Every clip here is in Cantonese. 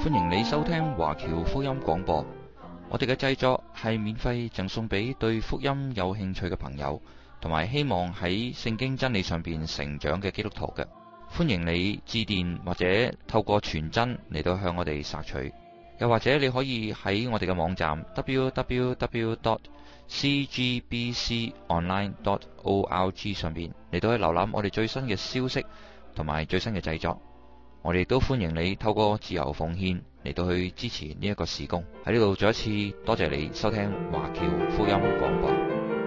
歡迎你收聽華僑福音廣播。我哋嘅製作係免費贈送俾對福音有興趣嘅朋友，同埋希望喺聖經真理上邊成長嘅基督徒嘅。歡迎你致電或者透過傳真嚟到向我哋索取，又或者你可以喺我哋嘅網站 www.cgbconline.org 上邊嚟到去瀏覽我哋最新嘅消息同埋最新嘅製作。我哋都歡迎你透過自由奉獻嚟到去支持呢一個事工。喺呢度再一次多謝你收聽華僑福音廣播。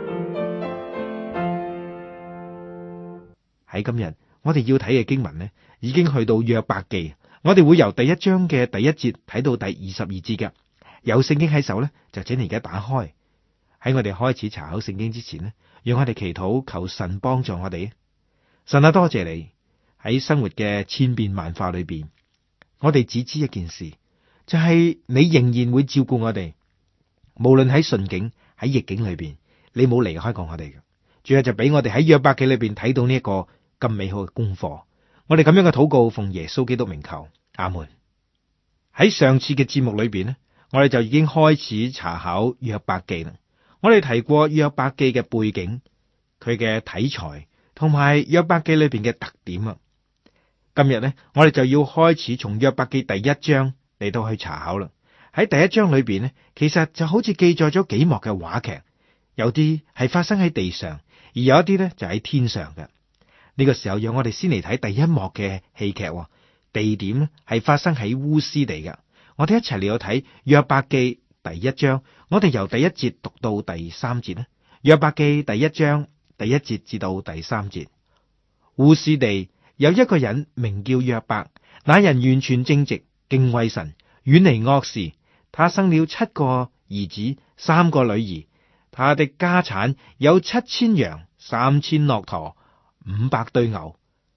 喺今日我哋要睇嘅經文呢，已經去到約伯記。我哋會由第一章嘅第一節睇到第22節嘅。有聖經喺手呢，就請你而家打開。喺我哋開始查考聖經之前呢，讓我哋祈禱，求神幫助我哋。神啊，多謝你喺生活嘅千變萬化裏邊，我哋只知一件事，就係你仍然會照顧我哋，無論喺順境喺逆境裏邊，你冇離開過我哋嘅。主要就俾我哋喺約伯記裏邊睇到呢一個咁美好嘅功課。我哋咁樣嘅禱告，奉耶穌基督名求，阿門。喺上次嘅節目裏邊呢，我哋就已經開始查考約伯記啦。我哋提過約伯記嘅背景，佢嘅題材，同埋約伯記裏邊嘅特點啊。今日呢，我哋就要開始從約伯記第一章嚟到去查考啦。喺第一章裏邊呢，其實就好似記載咗幾幕嘅話劇，有啲係發生喺地上，而有一啲呢就喺天上嘅。呢個時候，讓我哋先嚟睇第一幕嘅戲劇。地點呢係發生喺烏斯地嘅。我哋一齊嚟到睇約伯記第一章。我哋由第一節讀到第三節呢。約伯記第一章第一節至到第三節。烏斯地有一個人名叫約伯，那人完全正直，敬畏神，遠離惡事。他生了7個兒子，3個女兒。他的家產有7000羊，3000駱駝，500對牛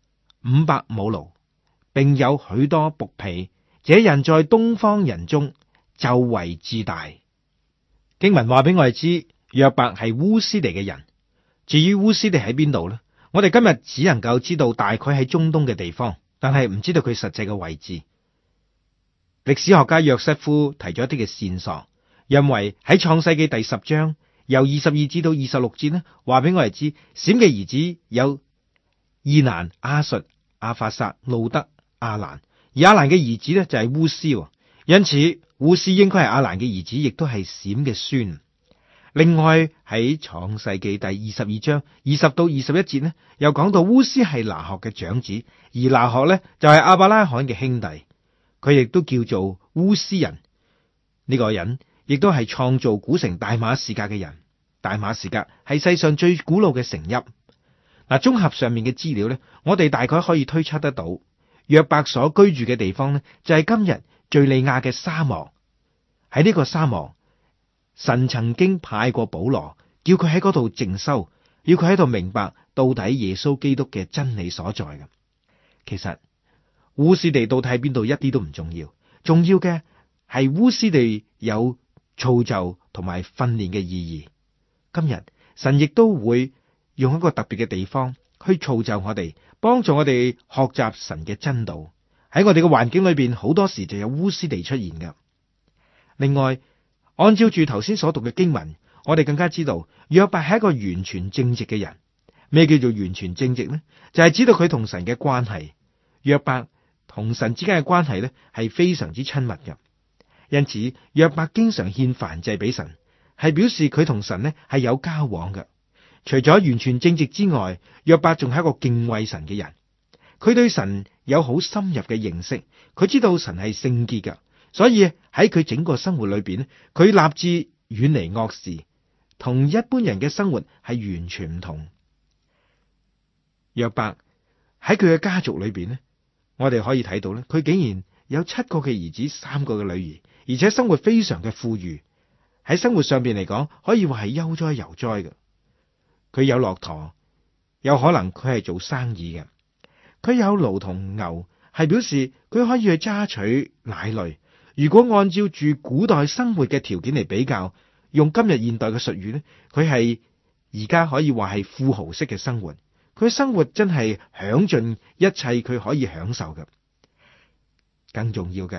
，500母驢，並有許多僕婢。這人在東方人中就為至大。經文話俾我哋知，約伯係烏斯地嘅人。至於烏斯地喺邊度呢？我哋今日只能夠知道大概喺中東嘅地方，但係唔知道佢實際嘅位置。歷史學家約瑟夫提咗一啲嘅線索，因為喺創世記第10章由22至到26節呢，話俾我哋知，閃嘅兒子有伊蘭、亞述、亞法撒、路德、亞蘭，而亞蘭嘅兒子呢就係烏斯，因此烏斯應該係亞蘭嘅兒子，亦都係閃嘅孫。另外喺創世記第22章20到21節呢，又講到烏斯係拿鶴嘅長子，而拿鶴呢就係亞伯拉罕嘅兄弟，佢亦都叫做烏斯人。呢個人亦都係創造古城大馬士革嘅人。大馬士革係世上最古老嘅城邑。綜合上面嘅資料呢，我哋大概可以推測得到，約伯所居住嘅地方呢，就係今日敘利亞嘅沙漠。喺呢個沙漠，神曾經派過保羅，叫佢喺嗰度靜修，要佢喺度明白到底耶穌基督嘅真理所在嘅。其實烏斯地到底喺邊度一啲都唔重要，重要嘅係烏斯地有造就同埋訓練嘅意義。今日神亦都會用一個特別嘅地方去造就我哋，幫助我哋學習神嘅真道。喺我哋嘅環境裏邊，好多時就有烏斯地出現嘅。另外，按照住頭先所讀嘅經文，我哋更加知道約伯係一個完全正直嘅人。咩叫做完全正直呢？就係知道佢同神嘅關係。約伯同神之間嘅關係呢，係非常之親密嘅。因此，約伯經常獻燔祭俾神，係表示佢同神呢係有交往嘅。除咗完全正直之外，約伯仲係一個敬畏神嘅人。佢對神有好深入嘅認識，佢知道神係聖潔嘅，所以喺佢整個生活裏邊，佢立志遠離惡事，同一般人嘅生活係完全唔同。約伯喺佢嘅家族裏邊呢，我哋可以睇到咧，佢竟然有7個嘅兒子，3個嘅女兒，而且生活非常嘅富裕。喺生活上邊嚟講，可以話係悠哉游哉嘅。佢有駱駝，有可能佢係做生意嘅。佢有驢同牛，係表示佢可以去揸取奶類。如果按照住古代生活嘅條件嚟比較，用今日現代嘅術語呢，佢係而家可以話係富豪式嘅生活。佢生活真係享盡一切佢可以享受嘅。更重要嘅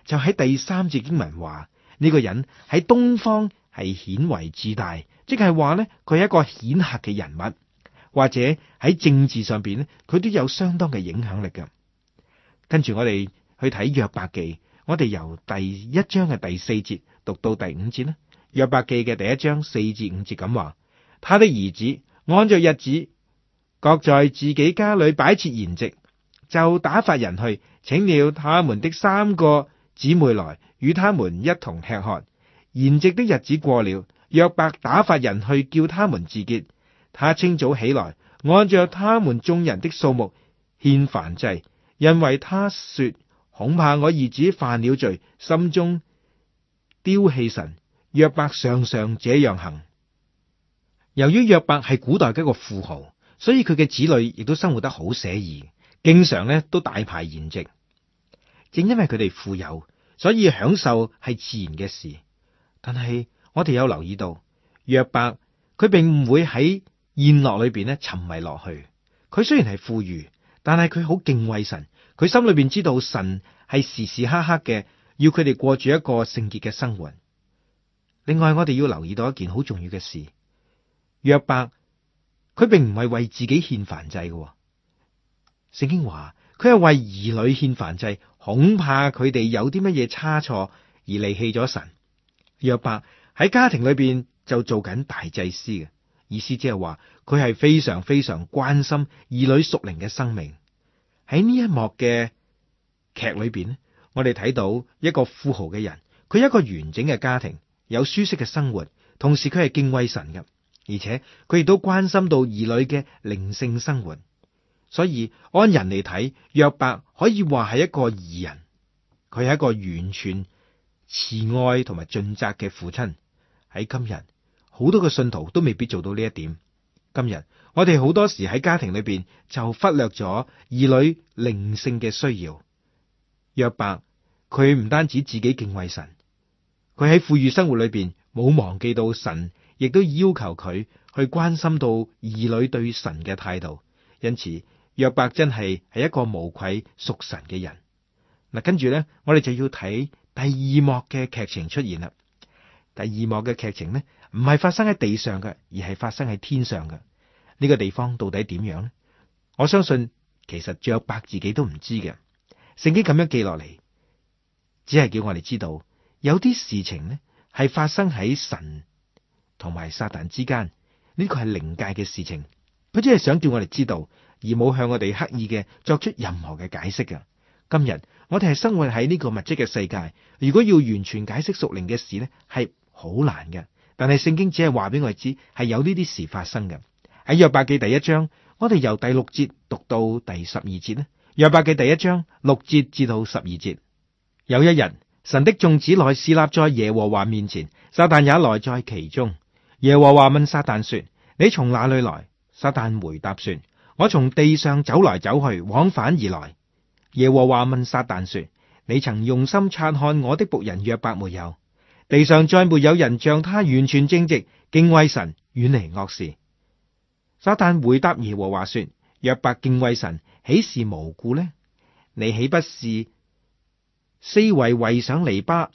就喺第3節經文話呢個人喺東方係顯為至大，即係話呢，佢係一個顯赫嘅人物，或者喺政治上邊呢，佢都有相當嘅影響力嘅。跟住我哋去睇約伯記，我哋由第1章嘅第4節讀到第5節啦。約伯記嘅第1章4至5節咁話：他的兒子按着日子，各在自己家裏擺設筵席，就打發人去，請了他們的3個姊妹來，與他們一同吃喝。筵席的日子過了，約伯打發人去叫他們自潔。他清早起來，按着他們眾人的數目獻燔祭，因為他說：恐怕我兒子犯了罪，心中丟棄神。約伯常常這樣行。由於約伯係古代嘅一個富豪，所以佢嘅子女亦都生活得好寫意，經常咧都大排筵席。正因為佢哋富有，所以享受係自然嘅事。但係我哋有留意到，約伯佢並唔會喺宴樂裏邊咧沉迷落去。佢雖然係富裕，但係佢好敬畏神。佢心裏邊知道神係時時刻刻嘅要佢哋過住一個聖潔嘅生活。另外，我哋要留意到一件好重要嘅事，約伯佢並唔係為自己獻燔祭嘅。聖經話佢係為兒女獻燔祭，恐怕佢哋有啲乜嘢差錯而離棄咗神。約伯喺家庭裏邊就做緊大祭司嘅意思，即係話佢係非常非常關心兒女屬靈嘅生命。喺呢一幕嘅劇裏邊咧，我哋睇到一個富豪嘅人，佢有一個完整嘅家庭，有舒適嘅生活，同時佢係敬畏神嘅，而且佢亦都關心到兒女嘅靈性生活。所以按人嚟睇，約伯可以話係一個義人，佢係一個完全慈愛同埋盡責嘅父親。喺今日，好多嘅信徒都未必做到呢一點。今日我哋好多時喺家庭裏邊就忽略咗兒女靈性嘅需要。約伯佢唔單止自己敬畏神，佢喺富裕生活裏邊冇忘記到神，亦都要求佢去關心到兒女對神嘅態度。因此約伯真係一個無愧屬神嘅人。嗱，跟住咧，我哋就要睇第2幕嘅劇情出現啦。第2幕嘅劇情呢，唔係發生喺地上嘅，而係發生喺天上嘅。呢個地方到底點樣呢？我相信其實約伯自己都唔知嘅。聖經咁樣記落嚟，只係叫我哋知道有啲事情呢係發生喺神同埋撒旦之間，呢個係靈界嘅事情。佢只係想叫我哋知道，而冇向我哋刻意嘅作出任何嘅解釋嘅。今日我哋係生活喺呢個物質嘅世界，如果要完全解釋屬靈嘅事呢，係好難嘅。但係聖經只係話俾我哋知，係有呢啲事發生嘅。喺約伯記第1章，我哋由第6節讀到第12節呢。約伯記第1章6節至到12節。有一日，神的眾子來侍立在耶和華面前，撒旦也來在其中。耶和華問撒旦說：你從哪裏來？撒旦回答說：我從地上走來走去，往返而來。耶和華問撒旦說：你曾用心察看我的僕人約伯沒有？地上再沒有人像他完全正直，敬畏神，遠離惡事。撒旦回答耶和華說：約伯敬畏神，豈是無故呢？你豈不是四圍圍上籬笆，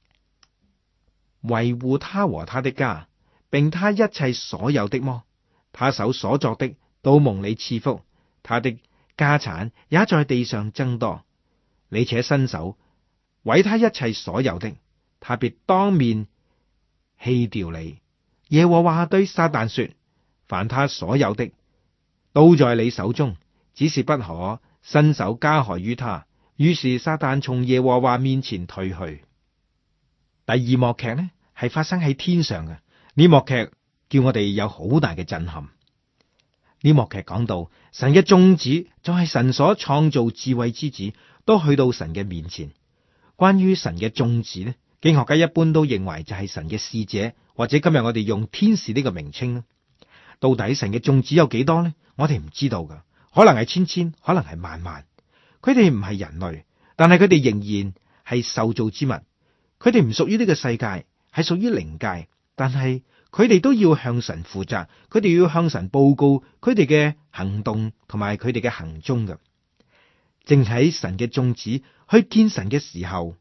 維護他和他的家，並他一切所有的麼？他手所作的都蒙你賜福，他的家產也在地上增多。你且伸手毀他一切所有的，他必當面棄掉你。耶和華對撒旦說：凡他所有的都在你手中，只是不可伸手加害於他。於是撒旦從耶和華面前退去。第2幕劇呢，係發生喺天上嘅。呢幕劇叫我哋有好大嘅震撼。呢幕劇講到神嘅眾子，就係神所創造智慧之子，都去到神嘅面前。關於神嘅眾子呢，經學家一般都認為就係神嘅使者，或者今日我哋用天使呢個名稱呢。到底神嘅眾子有幾多呢？我哋唔知道噶，可能係千千，可能係萬萬。佢哋唔係人類，但係佢哋仍然係受造之物。佢哋唔屬於呢個世界，係屬於靈界。但係佢哋都要向神負責，佢哋要向神報告佢哋嘅行動同埋佢哋嘅行蹤嘅。正喺神嘅眾子去見神嘅時候，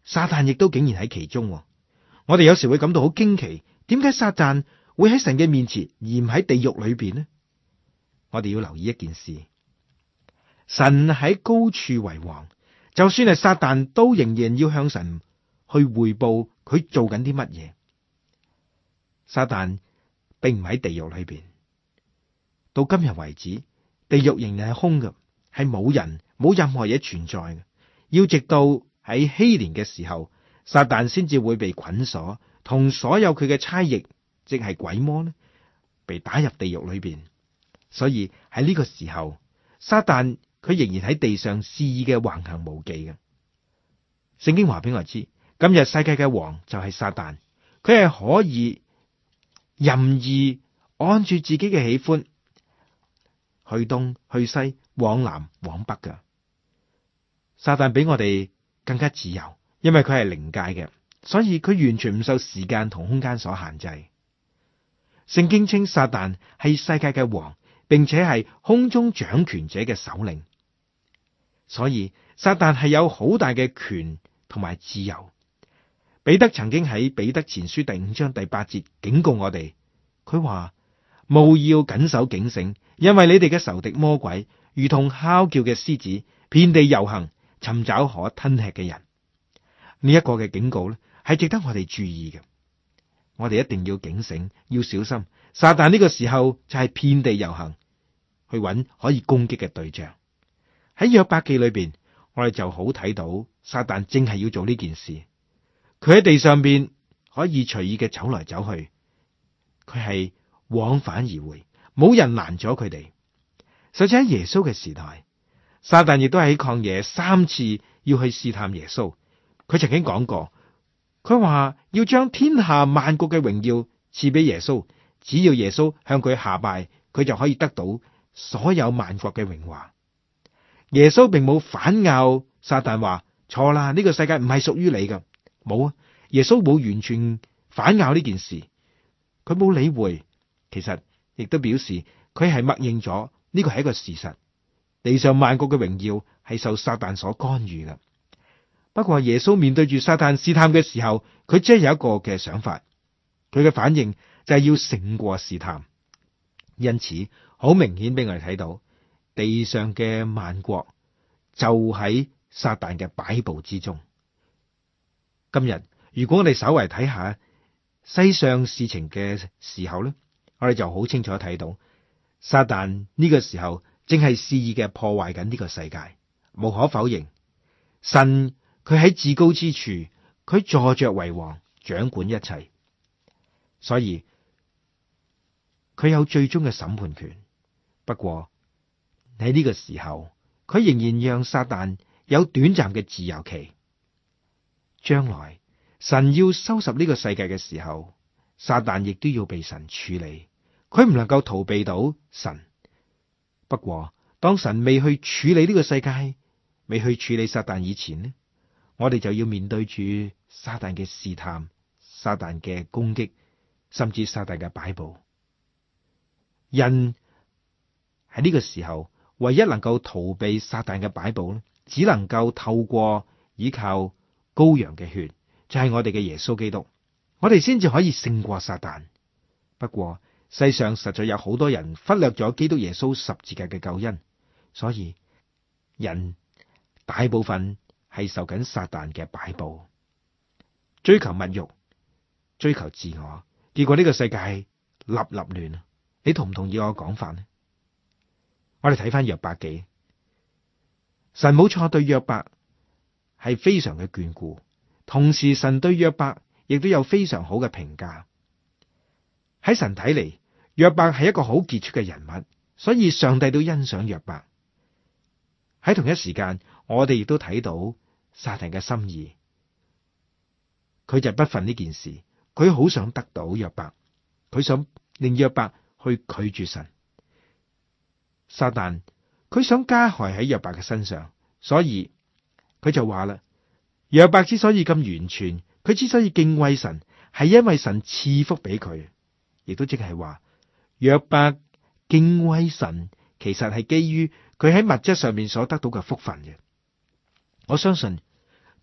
撒旦亦都竟然喺其中。我哋有時會感到好驚奇，點解撒旦會喺神嘅面前而唔喺地獄裏邊呢？我哋要留意一件事，神喺高處為王，就算係撒旦都仍然要向神去匯報佢做緊啲乜嘢。撒旦並唔喺地獄裏邊，到今日為止，地獄仍然係空嘅，係冇人冇任何嘢存在嘅。要直到喺禧年嘅時候，撒旦先至會被捆鎖，同所有佢嘅差役，即係鬼魔呢，被打入地獄裏邊。所以喺呢個時候，撒旦佢仍然喺地上肆意嘅橫行無忌嘅。聖經話俾我知，今日世界嘅王就係撒旦，佢係可以任意按住自己嘅喜歡，去東去西，往南往北嘅。撒旦比我哋更加自由，因為佢係靈界嘅，所以佢完全唔受時間同空間所限制。聖經稱撒旦係世界嘅王，並且係空中掌權者嘅首領，所以撒旦係有好大嘅權同埋自由。彼得曾經喺彼得前書第5章第8節警告我哋，佢話：務要謹守警醒，因為你哋嘅仇敵魔鬼如同哮叫嘅獅子，遍地遊行，尋找可吞吃嘅人。呢一個嘅警告咧，係值得我哋注意嘅。我哋一定要警醒，要小心。撒旦呢個時候就係遍地遊行，去揾可以攻擊嘅對象。喺約伯記裏邊，我哋就好睇到撒旦正係要做呢件事。佢喺地上邊可以隨意嘅走來走去，佢係往返而回，冇人攔阻佢哋。甚至喺耶穌嘅時代，撒旦亦都喺曠野3次要去試探耶穌。佢曾經講過，佢話要將天下萬國嘅榮耀賜俾耶穌，只要耶穌向佢下拜，佢就可以得到所有萬國嘅榮華。耶穌並冇反咬撒旦話錯啦，呢個世界唔係屬於你噶，冇啊！耶穌冇完全反咬呢件事，佢冇理會，其實亦都表示佢係默認咗呢個係一個事實，地上萬國嘅榮耀係受撒旦所干預嘅。不過耶穌面對住撒旦試探嘅時候，佢只係有一個嘅想法，佢嘅反應就係要勝過試探。因此好明顯俾我哋睇到，地上嘅萬國就喺撒旦嘅擺布之中。今日如果我哋稍為睇下世上事情嘅時候咧，我哋就好清楚睇到撒旦呢個時候正係肆意嘅破壞緊呢個世界。無可否認，神佢喺至高之處，佢坐着為王，掌管一切，所以佢有最終嘅審判權。不過喺呢個時候，佢仍然讓撒旦有短暫嘅自由期。將來神要收拾呢個世界嘅時候，撒旦亦都要被神處理，佢唔能夠逃避到神。不過當神未去處理呢個世界，未去處理撒旦以前呢，我哋就要面對住撒旦嘅試探、撒旦嘅攻擊，甚至撒旦嘅擺布。人喺呢個時候唯一能夠逃避撒旦嘅擺布咧，只能夠透過依靠羔羊嘅血，就係我哋嘅耶穌基督，我哋先至可以勝過撒旦。不過世上實在有好多人忽略咗基督耶穌十字架嘅救恩，所以人大部分係受緊撒旦嘅擺布，追求物欲，追求自我，結果呢個世界立立亂。你同唔同意我嘅講法呢？我哋睇翻約伯記，神冇錯對約伯係非常嘅眷顧，同時神對約伯亦都有非常好嘅評價。喺神睇嚟，約伯係一個好傑出嘅人物，所以上帝都欣賞約伯。喺同一時間，我哋亦都睇到撒旦嘅心意，佢就不忿呢件事，佢好想得到約伯，佢想令約伯去拒絕神。撒旦佢想加害喺約伯嘅身上，所以佢就話啦：約伯之所以咁完全，佢之所以敬畏神，係因為神賜福俾佢，亦都即係話約伯敬畏神，其實係基於佢喺物質上面所得到嘅福分嘅。我相信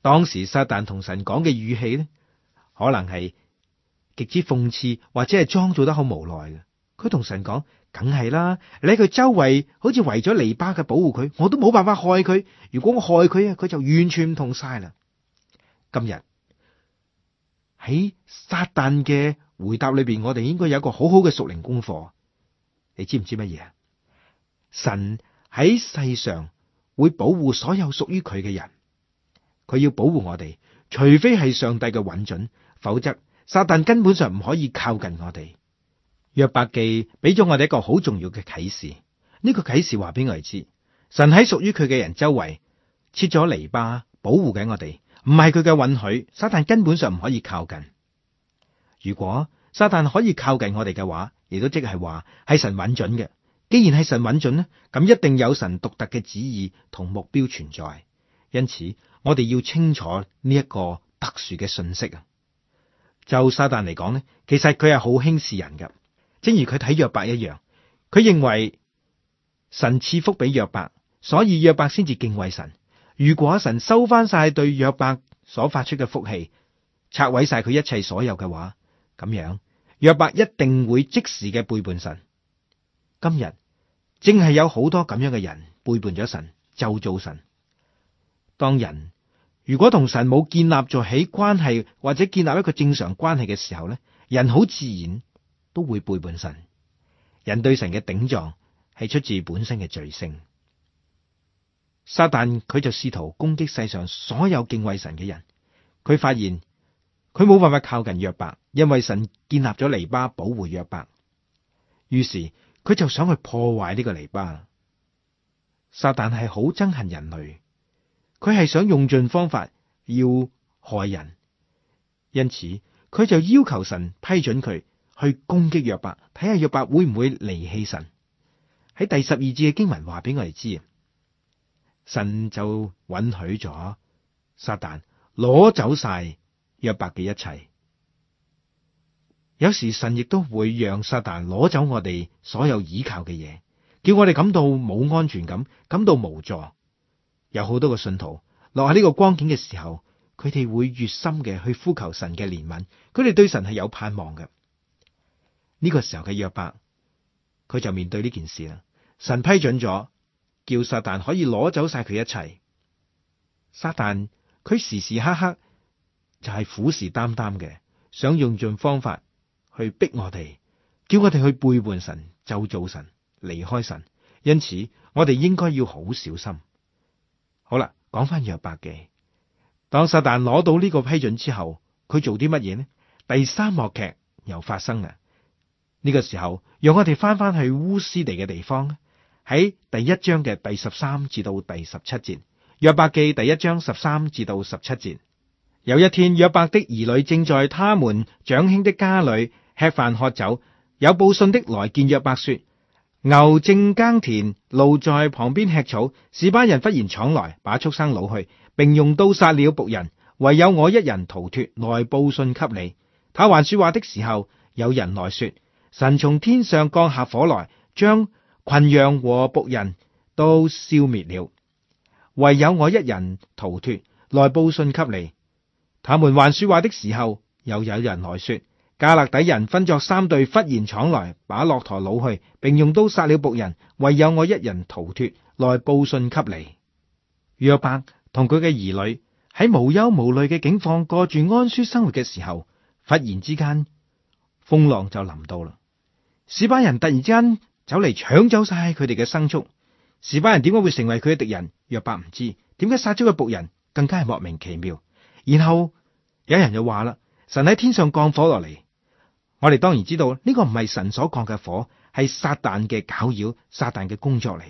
當時撒旦同神講嘅語氣呢，可能係極之諷刺，或者係裝作得好無奈嘅。佢同神講：梗係啦，你喺佢周圍好似圍咗籬笆嘅保護佢，我都冇辦法害佢。如果我害佢啊，佢就完全唔同晒啦。今日喺撒旦嘅回答裏邊，我哋應該有一個好好嘅屬靈功課。你知唔知乜嘢啊？神喺世上會保護所有屬於佢嘅人，佢要保護我哋，除非係上帝嘅允准，否則撒旦根本上唔可以靠近我哋。約伯記俾咗我哋一個好重要嘅啟示，呢個啟示話俾我哋知，神喺屬於佢嘅人周圍設咗籬笆保護緊我哋，唔係佢嘅允許，撒旦根本上唔可以靠近。如果撒旦可以靠近我哋嘅話，亦都即係話係神允准嘅。既然係神允准呢，咁一定有神獨特嘅旨意同目標存在。因此，我哋要清楚呢一個特殊嘅信息啊。就撒旦嚟講呢，其實佢係好輕視人噶。正如佢睇約伯一樣，佢認為神賜福俾約伯，所以約伯先至敬畏神。如果神收翻晒對約伯所發出嘅福氣，拆毀晒佢一切所有嘅話，咁樣約伯一定會即時嘅背叛神。今日正係有好多咁樣嘅人背叛咗神，咒詛神。當人如果同神冇建立咗起關係，或者建立一個正常關係嘅時候咧，人好自然都會背叛神。人對神嘅頂撞係出自本身嘅罪性。撒旦佢就試圖攻擊世上所有敬畏神嘅人。佢發現佢冇辦法靠近約伯，因為神建立咗籬笆保護約伯。於是佢就想去破壞呢個籬笆。撒旦係好憎恨人類，佢係想用盡方法要害人，因此佢就要求神批准佢去攻擊約伯，睇下約伯會唔會離棄神。喺第12節嘅經文話俾我哋知，神就允許咗撒旦攞走晒約伯嘅一切。有時神亦都會讓撒旦攞走我哋所有依靠嘅嘢，叫我哋感到冇安全感，感到無助。有好多個信徒落喺呢個光景嘅時候，佢哋會越深嘅去呼求神嘅憐憫，佢哋對神係有盼望嘅。呢個時候嘅約伯，佢就面對呢件事啦。神批准咗，叫撒旦可以攞走晒佢一切。撒旦佢時時刻刻就係虎視眈眈嘅，想用盡方法去逼我哋，叫我哋去背叛神、咒詛神、離開神。因此，我哋應該要好小心。好啦，講翻約伯記。當撒旦攞到呢個批准之後，佢做啲乜嘢呢？第三幕劇又發生啦。呢個時候，讓我哋翻翻去烏斯地嘅地方，喺第1章嘅第13至到第17節。約伯記第1章13至到17節。有一天，約伯的兒女正在他們長兄的家裏吃飯喝酒，有報信的來見約伯說：牛正耕田，驢在旁邊吃草，示巴人忽然闖來，把畜生擄去，並用刀殺了僕人，唯有我一人逃脫，來報信給你。他還說話的時候，有人來說：神從天上降下火來，將群羊和僕人都消滅了，唯有我一人逃脫，來報信給你。他們還說話的時候，又有人來說：迦勒底人分作3隊，忽然闖來，把駱駝擄去，並用刀殺了僕人，唯有我一人逃脫，來報信給你。約伯同佢嘅兒女喺無憂無慮嘅境況過住安舒生活嘅時候，忽然之間風浪就臨到啦。示巴人突然之間走嚟搶走晒佢哋嘅牲畜。示巴人點解會成為佢嘅敵人？約伯唔知。點解殺咗個僕人？更加係莫名其妙。然後有人就話啦：神喺天上降火落嚟。我哋當然知道呢個唔係神所降嘅火，係撒旦嘅攪擾，撒旦嘅工作嚟。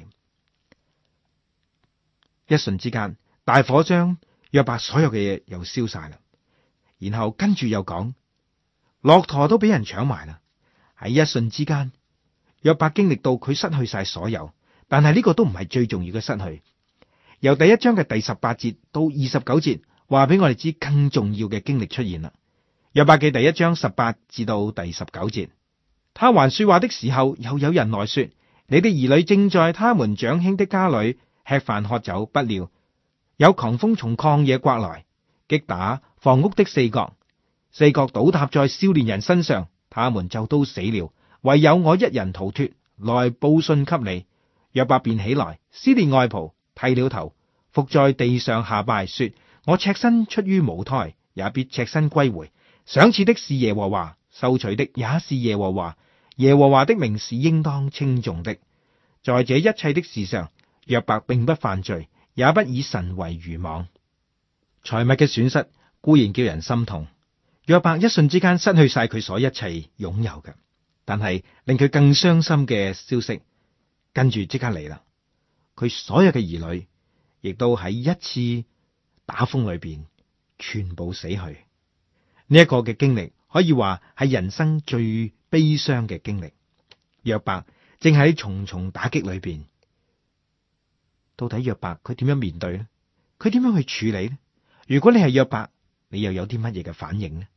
一瞬之間，大火將約伯所有嘅嘢又燒晒啦。然後跟住又講，駱駝都俾人搶埋啦。喺一瞬之間，約伯經歷到佢失去晒所有，但係呢個都唔係最重要嘅失去。由第1章嘅第18節到29節，話俾我哋知更重要嘅經歷出現啦。約伯記第1章18至到第19節，他還說話的時候，又有人來說：你的兒女正在他們長兄的家裏吃飯喝酒，不料有狂風從曠野颳來， 擊打房屋的四角，四角倒塌在少年人身上，他們就都死了，唯有我一人逃脫，來報信給你。約伯便起來，撕裂外袍，剃了頭，伏在地上下拜，說：我赤身出於母胎，也必赤身歸回。賞賜的是耶和華，收取的也是耶和華，耶和華的名是應當稱頌的。在這一切的事上，約伯並不犯罪，也不以神為愚妄。財物嘅損失固然叫人心痛，約伯一瞬之間失去晒佢所一切擁有嘅，但係令佢更傷心嘅消息跟住即刻嚟啦。佢所有嘅兒女亦都喺一次打風裏邊全部死去。呢一個嘅經歷可以話係人生最悲傷嘅經歷。約伯正喺重重打擊裏邊，到底約伯佢點樣面對呢？佢點樣去處理呢？如果你係約伯，你又有啲乜嘢嘅反應呢？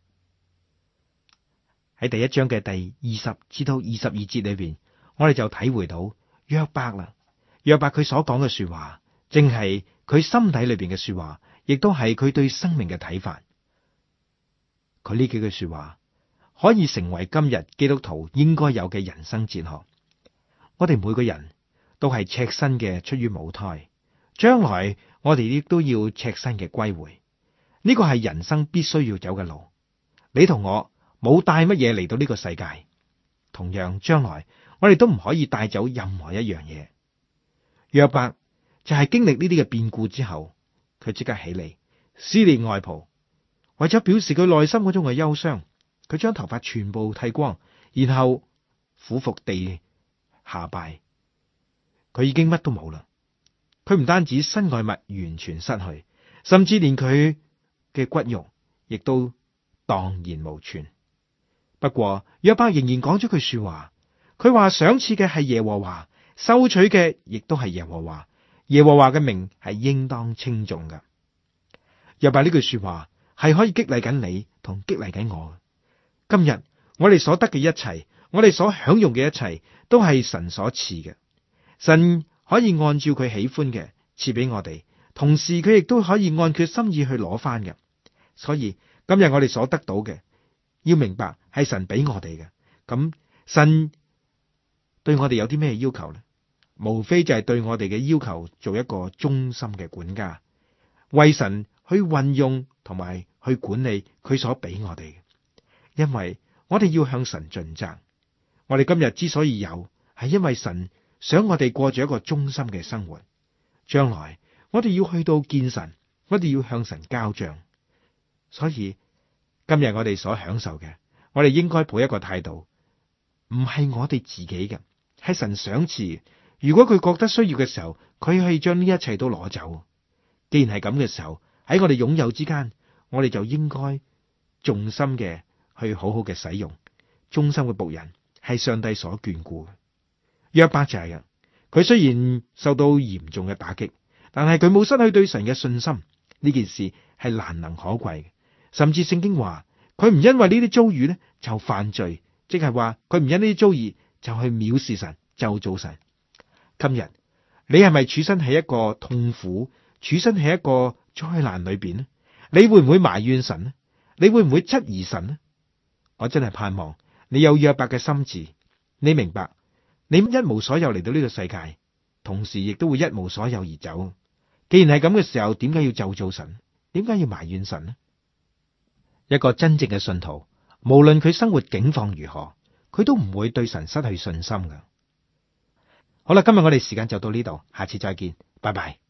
喺第一章嘅第20至到22節裏邊，我哋就體會到約伯啦。約伯佢所講嘅說話，正係佢心底裏邊嘅說話，亦都係佢對生命嘅睇法。佢呢幾句說話可以成為今日基督徒應該有嘅人生哲學。我哋每個人都係赤身嘅出於母胎，將來我哋亦都要赤身嘅歸回。呢個係人生必須要走嘅路。你同我冇帶乜嘢嚟到呢個世界，同樣將來我哋都唔可以帶走任何一樣嘢。約伯就係經歷呢啲嘅變故之後，佢即刻起嚟撕裂外袍，為咗表示佢內心嗰種嘅憂傷，佢將頭髮全部剃光，然後俯伏地下拜。佢已經乜都冇啦，佢唔單止身外物完全失去，甚至連佢嘅骨肉亦都蕩然無存。不過約伯仍然講咗句說話，佢話賞賜嘅係耶和華，收取嘅亦都係耶和華，耶和華嘅名係應當稱頌嘅。約伯呢句說話係可以激勵緊你同激勵緊我。今日我哋所得嘅一切，我哋所享用嘅一切，都係神所賜嘅。神可以按照佢喜歡嘅賜俾我哋，同時佢亦都可以按佢心意去攞翻嘅。所以今日我哋所得到嘅，要明白係神俾我哋嘅。咁神對我哋有啲咩要求呢？無非就係對我哋嘅要求做一個忠心嘅管家，為神去運用同埋去管理佢所俾我哋嘅。因為我哋要向神盡責。我哋今日之所以有，係因為神想我哋過住一個忠心嘅生活。將來我哋要去到見神，我哋要向神交賬。所以今日我哋所享受嘅，我哋應該抱一個態度，唔係我哋自己嘅，係神賞賜。如果佢覺得需要嘅時候，佢可以將呢一切都攞走。既然係咁嘅時候，喺我哋擁有之間，我哋就應該重心嘅去好好嘅使用。忠心嘅僕人係上帝所眷顧嘅。約伯就係嘅，佢雖然受到嚴重嘅打擊，但係佢冇失去對神嘅信心。呢件事係難能可貴嘅。甚至聖經話佢唔因為呢啲遭遇咧就犯罪，即係話佢唔因呢啲遭遇就去藐視神，咒詛神。今日你係咪處身喺一個痛苦、處身喺一個災難裏邊呢？你會唔會埋怨神呢？你會唔會質疑神呢？我真係盼望你有約伯嘅心志，你明白你一無所有嚟到呢個世界，同時亦都會一無所有而走。既然係咁嘅時候，點解要咒詛神？點解要埋怨神呢？一個真正嘅信徒，無論佢生活境況如何，佢都唔會對神失去信心㗎。好啦，今日我哋時間就到呢度，下次再見，拜拜。